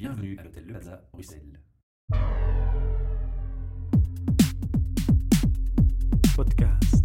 Bienvenue à l'hôtel Le Plaza, Bruxelles. Podcast.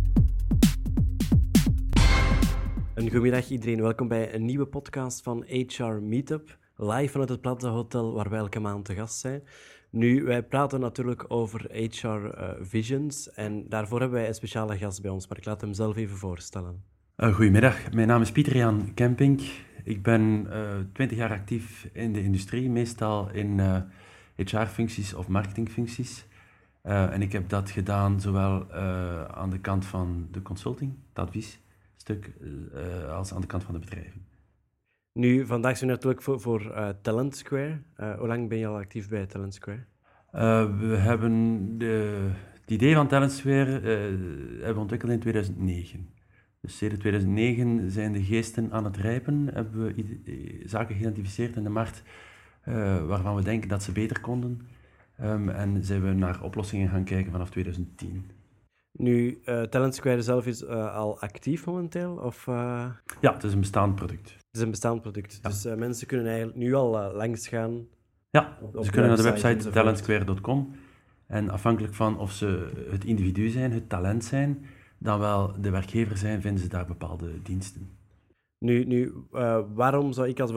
Een goedemiddag iedereen, welkom bij een nieuwe podcast van HR Meetup, live vanuit het Plaza Hotel waar wij elke maand te gast zijn. Nu, wij praten natuurlijk over HR Visions en daarvoor hebben wij een speciale gast bij ons, maar ik laat hem zelf even voorstellen. Goedemiddag, mijn naam is Pieter-Jan Kempink. Ik ben 20 jaar actief in de industrie, meestal in HR-functies of marketingfuncties. En ik heb dat gedaan zowel aan de kant van de consulting, het adviesstuk, als aan de kant van de bedrijven. Nu, vandaag zijn we natuurlijk voor Talent Square. Hoe lang ben je al actief bij Talent Square? We hebben het idee van Talent Square hebben we ontwikkeld in 2009. Dus sinds 2009 zijn de geesten aan het rijpen, hebben we zaken geïdentificeerd in de markt waarvan we denken dat ze beter konden. En zijn we naar oplossingen gaan kijken vanaf 2010. Nu, Talent Square zelf is al actief momenteel? Of, Ja, het is een bestaand product. Het is een bestaand product, Ja. dus mensen kunnen eigenlijk nu al langs gaan. Ja, Op ze kunnen naar de website website enzovoort. talentsquare.com en afhankelijk van of ze het individu zijn, het talent zijn, dan wel de werkgever zijn, vinden ze daar bepaalde diensten. Nu, waarom zou ik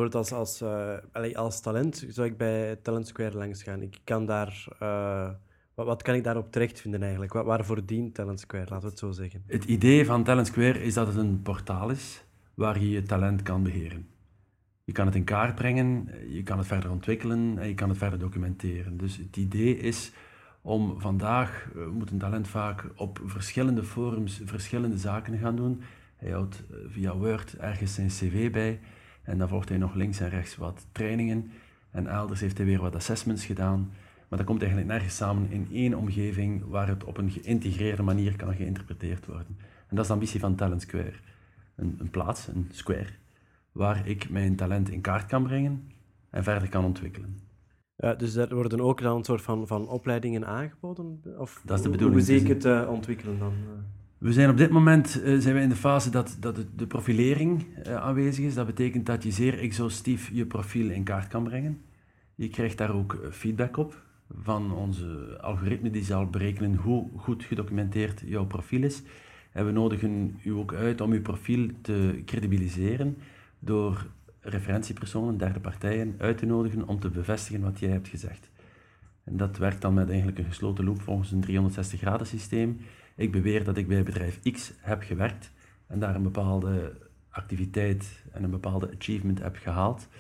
als talent zou ik bij Talent Square langs gaan? Ik kan daar, wat kan ik daarop terecht vinden eigenlijk? Waarvoor dient Talent Square, laten we het zo zeggen? Het idee van Talent Square is dat het een portaal is waar je je talent kan beheren. Je kan het in kaart brengen, je kan het verder ontwikkelen en je kan het verder documenteren. Dus het idee is om vandaag, moet een talent vaak op verschillende forums verschillende zaken gaan doen. Hij houdt via Word ergens zijn cv bij en dan volgt hij nog links en rechts wat trainingen en elders heeft hij weer wat assessments gedaan. Maar dat komt eigenlijk nergens samen in één omgeving waar het op een geïntegreerde manier kan geïnterpreteerd worden. En dat is de ambitie van Talent Square. Een plaats, een square, waar ik mijn talent in kaart kan brengen en verder kan ontwikkelen. Dus er worden ook dan een soort van opleidingen aangeboden? Of Dat is de bedoeling. Hoe zie ik het ontwikkelen dan? We zijn op dit moment zijn we in de fase dat de profilering aanwezig is. Dat betekent dat je zeer exhaustief je profiel in kaart kan brengen. Je krijgt daar ook feedback op van onze algoritme die zal berekenen hoe goed gedocumenteerd jouw profiel is. En we nodigen u ook uit om uw profiel te credibiliseren door referentiepersonen, derde partijen, uit te nodigen om te bevestigen wat jij hebt gezegd. En dat werkt dan met eigenlijk een gesloten loop volgens een 360-graden systeem. Ik beweer dat ik bij bedrijf X heb gewerkt en daar een bepaalde activiteit en een bepaalde achievement heb gehaald.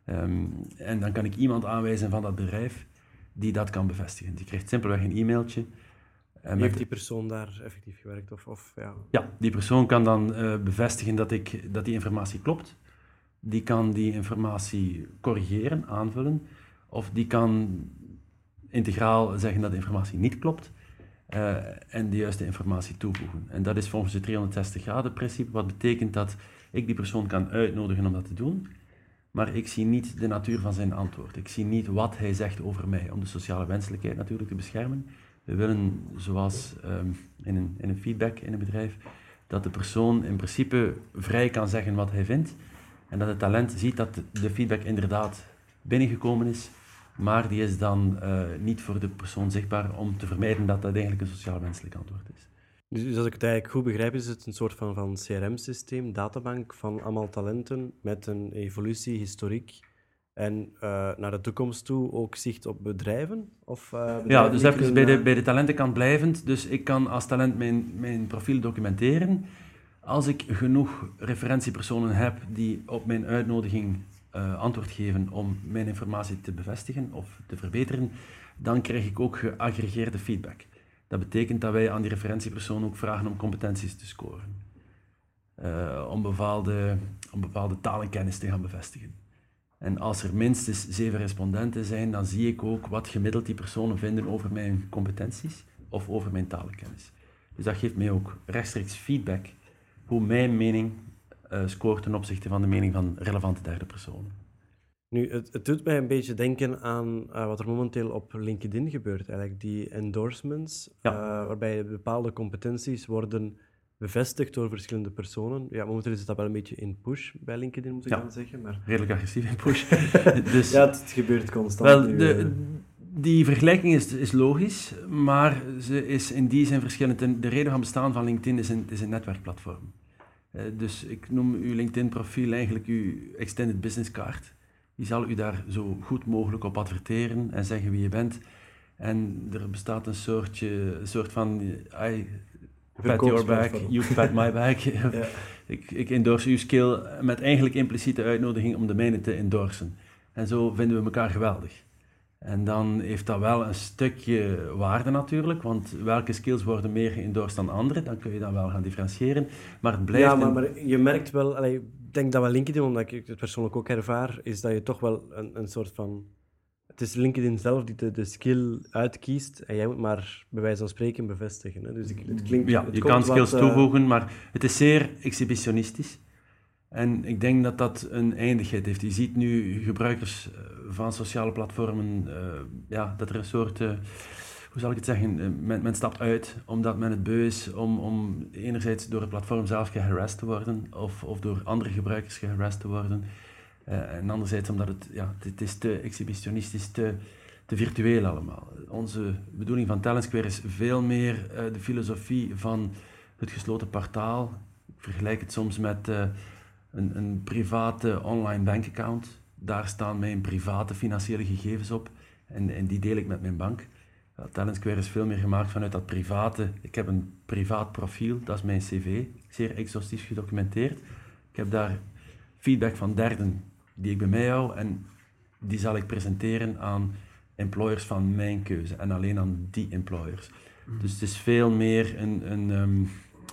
En dan kan ik iemand aanwijzen van dat bedrijf die dat kan bevestigen. Die krijgt simpelweg een e-mailtje. Heeft die persoon daar effectief gewerkt? Ja. Ja, die persoon kan dan bevestigen dat die informatie klopt. Die kan die informatie corrigeren, aanvullen. Of die kan integraal zeggen dat de informatie niet klopt. En de juiste informatie toevoegen. En dat is volgens het 360-graden principe, wat betekent dat ik die persoon kan uitnodigen om dat te doen. Maar ik zie niet de natuur van zijn antwoord. Ik zie niet wat hij zegt over mij, om de sociale wenselijkheid natuurlijk te beschermen. We willen, zoals in een feedback in een bedrijf, dat de persoon in principe vrij kan zeggen wat hij vindt. En dat het talent ziet dat de feedback inderdaad binnengekomen is, maar die is dan niet voor de persoon zichtbaar om te vermijden dat dat eigenlijk een sociaal wenselijk antwoord is. Dus als ik het eigenlijk goed begrijp, is het een soort van CRM-systeem, databank van allemaal talenten met een evolutie, historiek en naar de toekomst toe ook zicht op bedrijven? Ja, dus even bij de talentenkant blijvend. Dus ik kan als talent mijn profiel documenteren. Als ik genoeg referentiepersonen heb die op mijn uitnodiging antwoord geven om mijn informatie te bevestigen of te verbeteren, dan krijg ik ook geaggregeerde feedback. Dat betekent dat wij aan die referentiepersoon ook vragen om competenties te scoren. Om bepaalde talenkennis te gaan bevestigen. En als er minstens 7 respondenten zijn, dan zie ik ook wat gemiddeld die personen vinden over mijn competenties of over mijn talenkennis. Dus dat geeft mij ook rechtstreeks feedback hoe mijn mening scoort ten opzichte van de mening van relevante derde personen. Nu, het doet mij een beetje denken aan wat er momenteel op LinkedIn gebeurt, eigenlijk die endorsements, Ja. waarbij bepaalde competenties worden bevestigd door verschillende personen. Ja, momenteel is dat wel een beetje in push bij LinkedIn, moet ik Ja. dan zeggen. Maar... Redelijk agressief in push. Dus, Ja, het gebeurt constant. wel, nu, die vergelijking is logisch, maar ze is in die zin verschillend. En de reden van bestaan van LinkedIn is een netwerkplatform. Dus ik noem uw LinkedIn-profiel eigenlijk uw extended business card. Die zal u daar zo goed mogelijk op adverteren en zeggen wie je bent. En er bestaat een soort van... I pat your back, you pat my back. Ja. Ik endorse uw skill met eigenlijk impliciete uitnodiging om de mijne te endorsen. En zo vinden we elkaar geweldig. En dan heeft dat wel een stukje waarde natuurlijk, want welke skills worden meer geëndorst dan andere, dan kun je dat wel gaan differentiëren. Maar het blijft... Ja, maar je merkt wel, ik denk dat wel LinkedIn, omdat ik het persoonlijk ook ervaar, is dat je toch wel een soort van... Het is LinkedIn zelf die de skill uitkiest en jij moet maar bij wijze van spreken bevestigen. Hè? Dus het klinkt... Ja, het je komt kan skills wat, toevoegen, maar het is zeer exhibitionistisch. En ik denk dat dat een eindigheid heeft. Je ziet nu gebruikers van sociale platformen, dat er een soort, hoe zal ik het zeggen, men stapt uit omdat men het beu is om enerzijds door het platform zelf geharasst te worden of door andere gebruikers geharasst te worden. En anderzijds omdat het is te exhibitionistisch, te virtueel allemaal. Onze bedoeling van Talentsquare is veel meer de filosofie van het gesloten portaal. Ik vergelijk het soms met een private online bankaccount. Daar staan mijn private financiële gegevens op en die deel ik met mijn bank. Talentsquare is veel meer gemaakt vanuit dat private. Ik heb een privaat profiel, dat is mijn cv, zeer exhaustief gedocumenteerd. Ik heb daar feedback van derden die ik bij mij hou en die zal ik presenteren aan employers van mijn keuze en alleen aan die employers. Dus het is veel meer een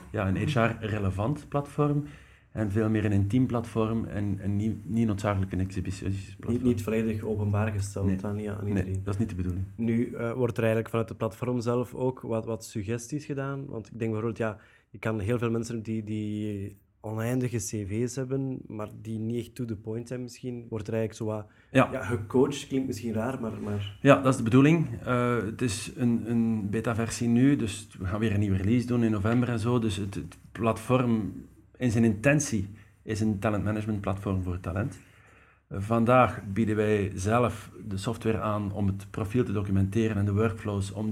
HR-relevant platform en veel meer een intiem platform en niet noodzakelijk een exhibitionistisch platform. Niet volledig openbaar gesteld aan iedereen. Nee, dat is niet de bedoeling. Nu wordt er eigenlijk vanuit het platform zelf ook wat suggesties gedaan. Want ik denk bijvoorbeeld, je kan heel veel mensen die oneindige cv's hebben, maar die niet echt to the point zijn misschien, wordt er eigenlijk zo wat gecoacht, klinkt misschien raar, maar... Ja, dat is de bedoeling. Het is een beta-versie nu, dus we gaan weer een nieuwe release doen in november en zo. Dus het platform in zijn intentie is een talentmanagement platform voor talent. Vandaag bieden wij zelf de software aan om het profiel te documenteren en de workflows om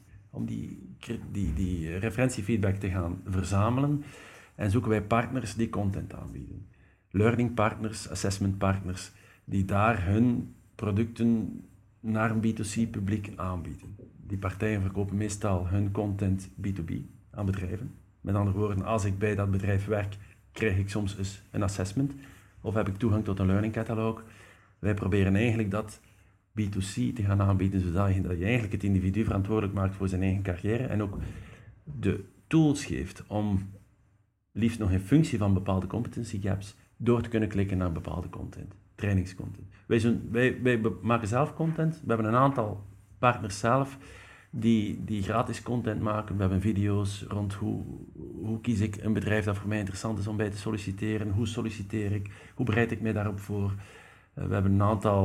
die referentiefeedback te gaan verzamelen. En zoeken wij partners die content aanbieden. Learning partners, assessment partners, die daar hun producten naar een B2C-publiek aanbieden. Die partijen verkopen meestal hun content B2B aan bedrijven. Met andere woorden, als ik bij dat bedrijf werk, krijg ik soms eens een assessment of heb ik toegang tot een learning catalog. Wij proberen eigenlijk dat B2C te gaan aanbieden, zodat je eigenlijk het individu verantwoordelijk maakt voor zijn eigen carrière en ook de tools geeft om liefst nog in functie van bepaalde competency gaps door te kunnen klikken naar bepaalde content, trainingscontent. Wij maken zelf content. We hebben een aantal partners zelf die gratis content maken. We hebben video's rond hoe kies ik een bedrijf dat voor mij interessant is om bij te solliciteren, hoe solliciteer ik, hoe bereid ik mij daarop voor. We hebben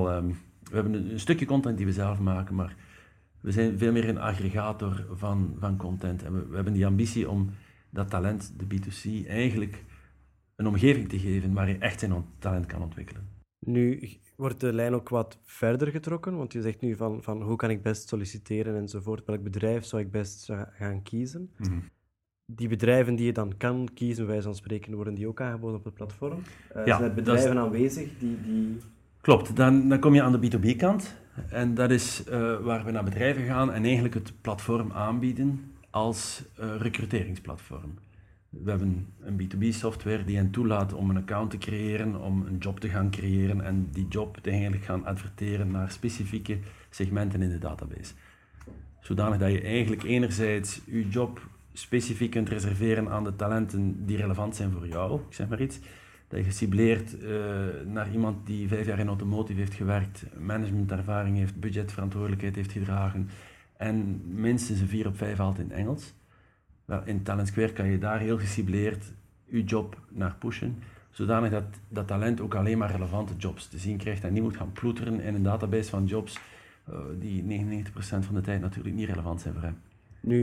een stukje content die we zelf maken, maar we zijn veel meer een aggregator van content. En we hebben die ambitie om dat talent, de B2C, eigenlijk een omgeving te geven waar je echt zijn talent kan ontwikkelen. Nu wordt de lijn ook wat verder getrokken, want je zegt nu van hoe kan ik best solliciteren enzovoort, welk bedrijf zou ik best gaan kiezen. Mm-hmm. Die bedrijven die je dan kan kiezen, bij wijze van spreken, worden die ook aangeboden op het platform? Zijn er bedrijven dat is... aanwezig die... Klopt, dan kom je aan de B2B-kant en dat is waar we naar bedrijven gaan en eigenlijk het platform aanbieden als recruteringsplatform. We hebben een B2B-software die hen toelaat om een account te creëren, om een job te gaan creëren en die job te eigenlijk gaan adverteren naar specifieke segmenten in de database. Zodanig dat je eigenlijk enerzijds je job specifiek kunt reserveren aan de talenten die relevant zijn voor jou, ik zeg maar iets. Dat je gecibleerd naar iemand die 5 jaar in automotive heeft gewerkt, managementervaring heeft, budgetverantwoordelijkheid heeft gedragen en minstens een 4 op 5 haalt in Engels. Wel, in Talentsquare kan je daar heel gecibleerd je job naar pushen, zodanig dat talent ook alleen maar relevante jobs te zien krijgt en niet moet gaan ploeteren in een database van jobs die 99% van de tijd natuurlijk niet relevant zijn voor hem. Nu,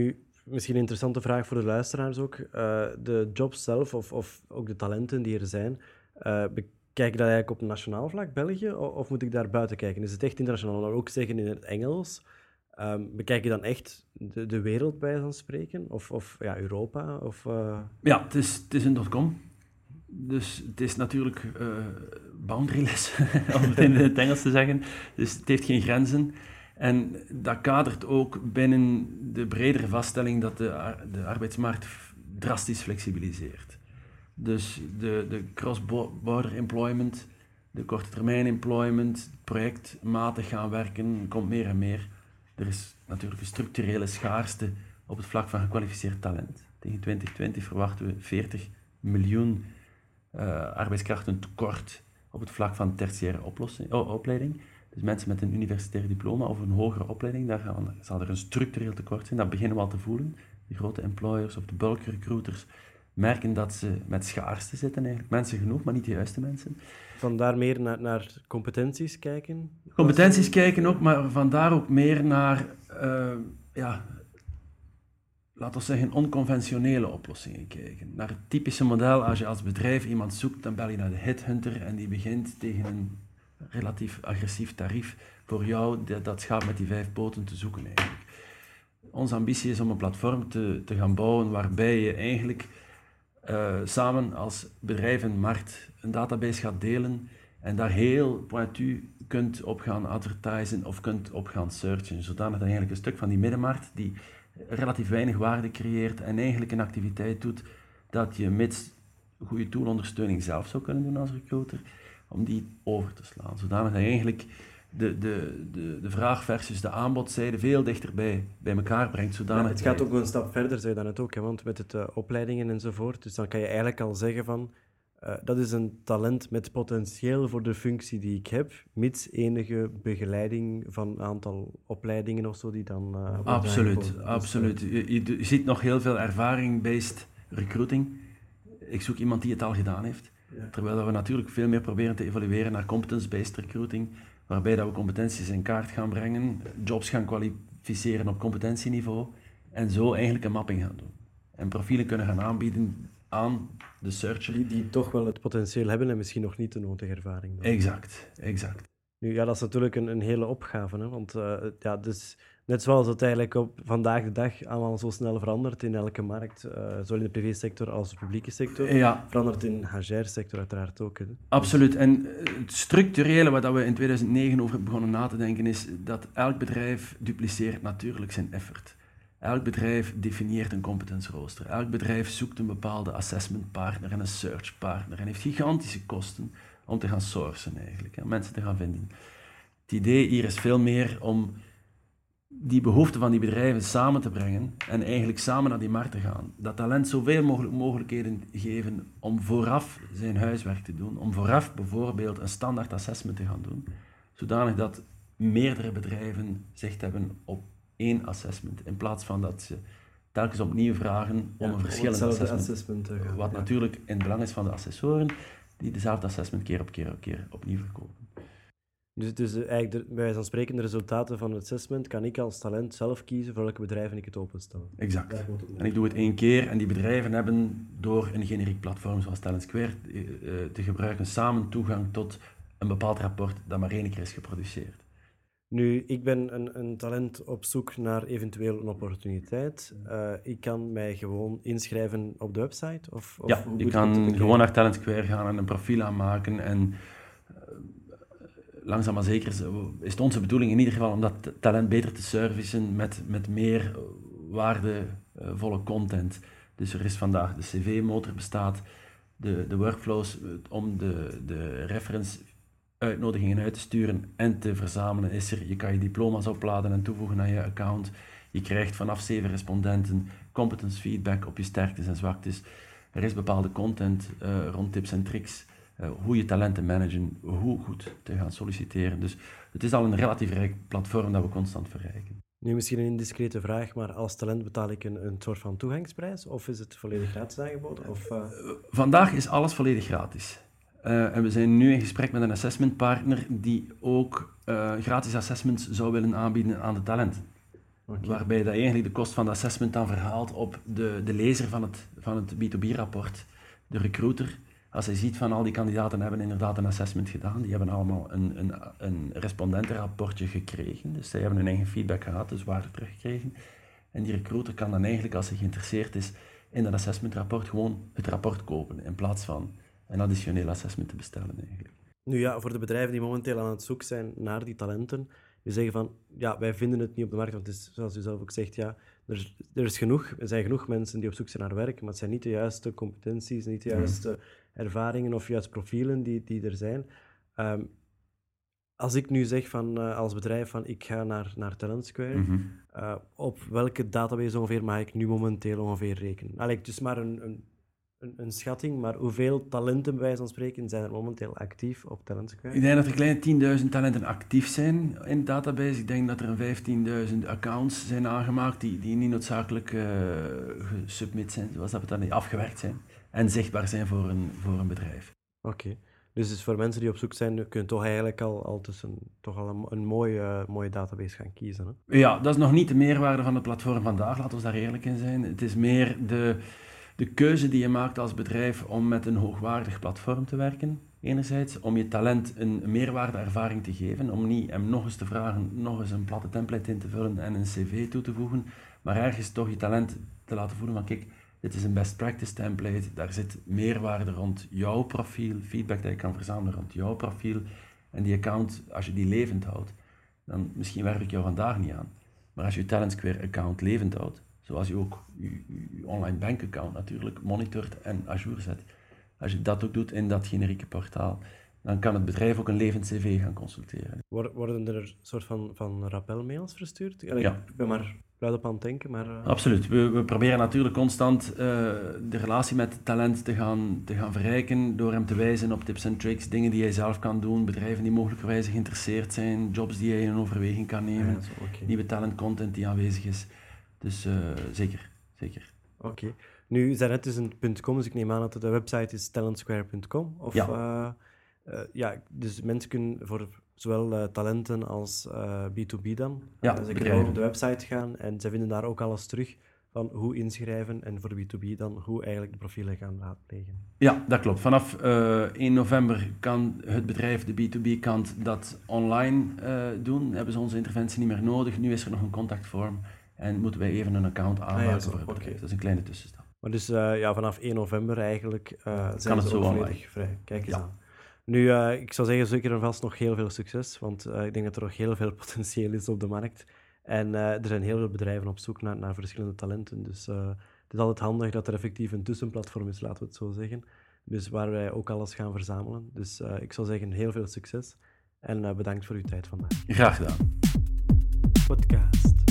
Misschien een interessante vraag voor de luisteraars ook. De jobs zelf, of ook de talenten die er zijn, bekijk je dat eigenlijk op nationaal vlak, België, of moet ik daar buiten kijken? Is het echt internationaal? Dan ook zeggen in het Engels. Bekijk je dan echt de wereld bij van spreken? Of ja, Europa? Ja, het is een .com. Dus het is natuurlijk boundaryless, om het in het Engels te zeggen. Dus het heeft geen grenzen. En dat kadert ook binnen de bredere vaststelling dat de arbeidsmarkt drastisch flexibiliseert. Dus de cross-border employment, de korte termijn employment, projectmatig gaan werken, komt meer en meer. Er is natuurlijk een structurele schaarste op het vlak van gekwalificeerd talent. Tegen 2020 verwachten we 40 miljoen arbeidskrachten tekort op het vlak van tertiaire opleiding. Dus mensen met een universitair diploma of een hogere opleiding, daar zal er een structureel tekort zijn. Dat beginnen we al te voelen. De grote employers of de bulk recruiters merken dat ze met schaarste zitten eigenlijk. Mensen genoeg, maar niet de juiste mensen. Vandaar meer naar competenties kijken? Competenties kijken ook, maar vandaar ook meer naar, laten we zeggen, onconventionele oplossingen kijken. Naar het typische model, als je als bedrijf iemand zoekt, dan bel je naar de headhunter en die begint tegen een relatief agressief tarief voor jou dat schaap met die 5 poten te zoeken eigenlijk. Onze ambitie is om een platform te gaan bouwen waarbij je eigenlijk samen als bedrijf en markt een database gaat delen en daar heel pointu kunt op gaan advertisen of kunt op gaan searchen, zodanig dat eigenlijk een stuk van die middenmarkt die relatief weinig waarde creëert en eigenlijk een activiteit doet dat je mits goede toolondersteuning zelf zou kunnen doen als recruiter, om die over te slaan. Zodanig dat je eigenlijk de vraag versus de aanbodzijde veel dichterbij bij elkaar brengt. Zodanig het gaat ook een stap verder, zei je dan ook, hè, want met het opleidingen enzovoort. Dus dan kan je eigenlijk al zeggen van, dat is een talent met potentieel voor de functie die ik heb, mits enige begeleiding van een aantal opleidingen of zo die dan... Absoluut. Je ziet nog heel veel ervaring-based recruiting. Ik zoek iemand die het al gedaan heeft. Ja. Terwijl we natuurlijk veel meer proberen te evalueren naar competence-based recruiting, waarbij dat we competenties in kaart gaan brengen, jobs gaan kwalificeren op competentieniveau en zo eigenlijk een mapping gaan doen. En profielen kunnen gaan aanbieden aan de searcher. Die toch wel het potentieel hebben en misschien nog niet de nodige ervaring. Dan. Exact. Nu, ja, dat is natuurlijk een hele opgave, hè? Want dus, net zoals het eigenlijk op vandaag de dag allemaal zo snel verandert in elke markt, zowel in de privésector als de publieke sector, verandert in de HR-sector uiteraard ook. Hè? Absoluut. En het structurele waar we in 2009 over begonnen na te denken is dat elk bedrijf dupliceert natuurlijk zijn effort. Elk bedrijf definieert een competence rooster. Elk bedrijf zoekt een bepaalde assessment partner en een search partner en heeft gigantische kosten om te gaan sourcen eigenlijk, om mensen te gaan vinden. Het idee hier is veel meer om die behoeften van die bedrijven samen te brengen en eigenlijk samen naar die markt te gaan. Dat talent zoveel mogelijk mogelijkheden geven om vooraf zijn huiswerk te doen, om vooraf bijvoorbeeld een standaard assessment te gaan doen, zodanig dat meerdere bedrijven zicht hebben op één assessment, in plaats van dat ze telkens opnieuw vragen om een verschillend assessment te gaan. Wat natuurlijk in het belang is van de assessoren, die dezelfde assessment keer op keer opnieuw verkopen. Dus eigenlijk, bij wijze van spreken, de resultaten van het assessment kan ik als talent zelf kiezen voor welke bedrijven ik het openstel. Exact. En ik doe het 1 keer en die bedrijven hebben door een generiek platform zoals Talent Square te gebruiken samen toegang tot een bepaald rapport dat maar 1 keer is geproduceerd. Nu, ik ben een talent op zoek naar eventueel een opportuniteit. Ik kan mij gewoon inschrijven op de website? Ja, je kan gewoon naar Talent Square gaan en een profiel aanmaken. En langzaam maar zeker is het onze bedoeling in ieder geval om dat talent beter te servicen met meer waardevolle content. Dus er is vandaag de cv-motor bestaat, de workflows om de reference uitnodigingen uit te sturen en te verzamelen is er. Je kan je diploma's opladen en toevoegen aan je account. Je krijgt vanaf 7 respondenten competence feedback op je sterktes en zwaktes. Er is bepaalde content rond tips en tricks, hoe je talenten managen, hoe goed te gaan solliciteren. Dus het is al een relatief rijk platform dat we constant verrijken. Nu misschien een indiscrete vraag, maar als talent betaal ik een soort van toegangsprijs of is het volledig gratis aangeboden? Vandaag is alles volledig gratis. En we zijn nu in gesprek met een assessmentpartner die ook gratis assessments zou willen aanbieden aan de talenten. Oké. Waarbij dat je eigenlijk de kost van de assessment dan verhaalt op de lezer van het B2B-rapport, de recruiter. Als hij ziet van al die kandidaten hebben inderdaad een assessment gedaan, die hebben allemaal een respondentenrapportje gekregen, dus zij hebben hun eigen feedback gehad, dus waarde teruggekregen. En die recruiter kan dan eigenlijk, als hij geïnteresseerd is in dat assessmentrapport, gewoon het rapport kopen, in plaats van een additioneel assessment te bestellen eigenlijk. Nu ja, voor de bedrijven die momenteel aan het zoeken zijn naar die talenten, die zeggen van, ja, wij vinden het niet op de markt, want het is, zoals u zelf ook zegt, ja, er zijn genoeg mensen die op zoek zijn naar werk, maar het zijn niet de juiste competenties, niet de juiste ervaringen of juist profielen die er zijn. Als ik nu zeg van, als bedrijf van ik ga naar Talentsquare, op welke database ongeveer mag ik nu momenteel ongeveer rekenen? Allee, het is maar een schatting, maar hoeveel talenten bij wijze van spreken zijn er momenteel actief op Talentsquare? Ik denk dat er kleine 10.000 talenten actief zijn in de database. Ik denk dat er 15.000 accounts zijn aangemaakt die niet noodzakelijk gesubmit zijn, zoals dat we dat niet afgewerkt zijn, en zichtbaar zijn voor een bedrijf. Oké. Dus voor mensen die op zoek zijn, kunnen toch eigenlijk al tussen toch al een mooie database gaan kiezen. Hè? Ja, dat is nog niet de meerwaarde van het platform vandaag, laten we daar eerlijk in zijn. Het is meer de keuze die je maakt als bedrijf om met een hoogwaardig platform te werken, enerzijds, om je talent een meerwaardeervaring te geven, om niet hem nog eens te vragen, nog eens een platte template in te vullen en een cv toe te voegen, maar ergens toch je talent te laten voelen van kijk, dit is een best practice template, daar zit meerwaarde rond jouw profiel, feedback dat je kan verzamelen rond jouw profiel, en die account, als je die levend houdt, dan misschien werf ik jou vandaag niet aan, maar als je je Talentsquare account levend houdt, zoals je ook je online bankaccount natuurlijk monitort en à jour zet. Als je dat ook doet in dat generieke portaal, dan kan het bedrijf ook een levend cv gaan consulteren. Worden er een soort van rappelmails verstuurd? Ja. Ik ben maar luid op aan het denken, maar... Absoluut. We proberen natuurlijk constant de relatie met talent te gaan verrijken door hem te wijzen op tips en tricks, dingen die hij zelf kan doen, bedrijven die mogelijkerwijs geïnteresseerd zijn, jobs die hij in overweging kan nemen, nieuwe talentcontent die aanwezig is. Dus zeker. Oké. Nu, het is een .com, dus ik neem aan dat de website is talentsquare.com. Of, dus mensen kunnen voor zowel talenten als B2B dan. Ze kunnen op de website gaan en ze vinden daar ook alles terug van hoe inschrijven en voor B2B dan hoe eigenlijk de profielen gaan raadplegen. Ja, dat klopt. Vanaf 1 november kan het bedrijf, de B2B-kant, dat online doen. Hebben ze onze interventie niet meer nodig. Nu is er nog een contactvorm. En moeten wij even een account aanmaken voor het bedrijf. Dat is een kleine tussenstap. Maar dus vanaf 1 november eigenlijk zijn ze zo ook volledig vrij. Kijk eens aan. Nu, ik zou zeggen zeker en vast nog heel veel succes, want ik denk dat er nog heel veel potentieel is op de markt. En er zijn heel veel bedrijven op zoek naar verschillende talenten. Dus het is altijd handig dat er effectief een tussenplatform is, laten we het zo zeggen. Dus waar wij ook alles gaan verzamelen. Dus ik zou zeggen heel veel succes en bedankt voor uw tijd vandaag. Graag gedaan. Podcast.